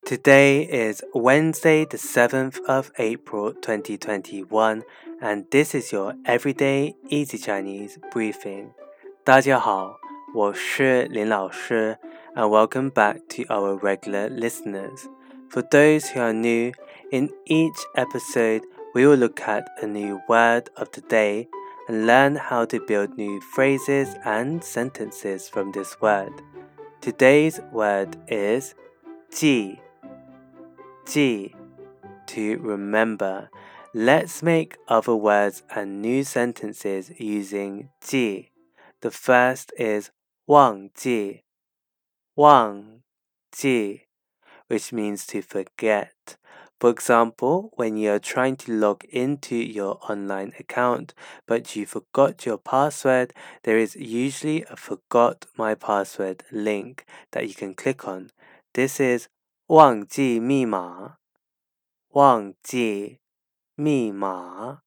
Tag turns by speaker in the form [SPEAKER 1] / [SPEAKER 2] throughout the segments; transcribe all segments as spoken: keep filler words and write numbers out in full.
[SPEAKER 1] Today is Wednesday, the seventh of April, twenty twenty-one, and this is your Everyday Easy Chinese briefing. 大家好，我是林老师 and welcome back to our regular listeners. For those who are new, in each episode, we will look at a new word of the day and learn how to build new phrases and sentences from this word. Today's word is 记 记 to remember. Let's make other words and new sentences using 记. The first is 忘记忘记 which means to forget. For example, when you are trying to log into your online account but you forgot your password, there is usually a forgot my password link that you can click on. This is 忘记密码忘记密码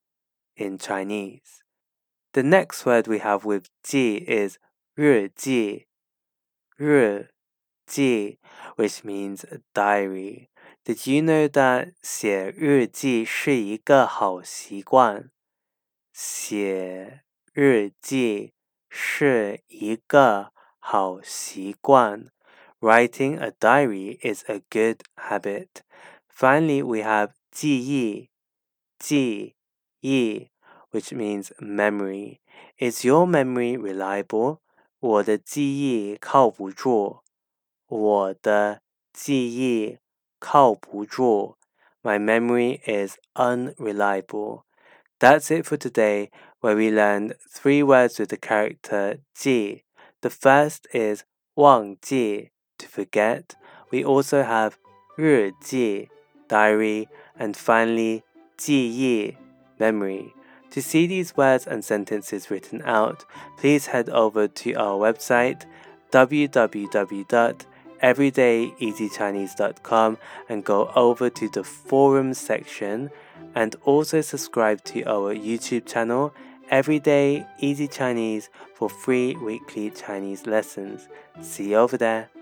[SPEAKER 1] in Chinese. The next word we have with 记 is 日记日记 which means a diary. Did you know that 写日记是一个好习惯？写日记是一个好习惯。Writing a diary is a good habit. Finally, we have 记忆记忆 which means memory. Is your memory reliable? 我的记忆靠不住。我的记忆靠不住。My memory is unreliable. That's it for today, where we learned three words with the character 记. The first is 忘记 to forget. We also have 日记 diary, and finally 记忆 memory. To see these words and sentences written out, please head over to our website w w w dot everyday easy chinese dot com and go over to the forums section, and also subscribe to our YouTube channel Everyday Easy Chinese for free weekly Chinese lessons. See you over there.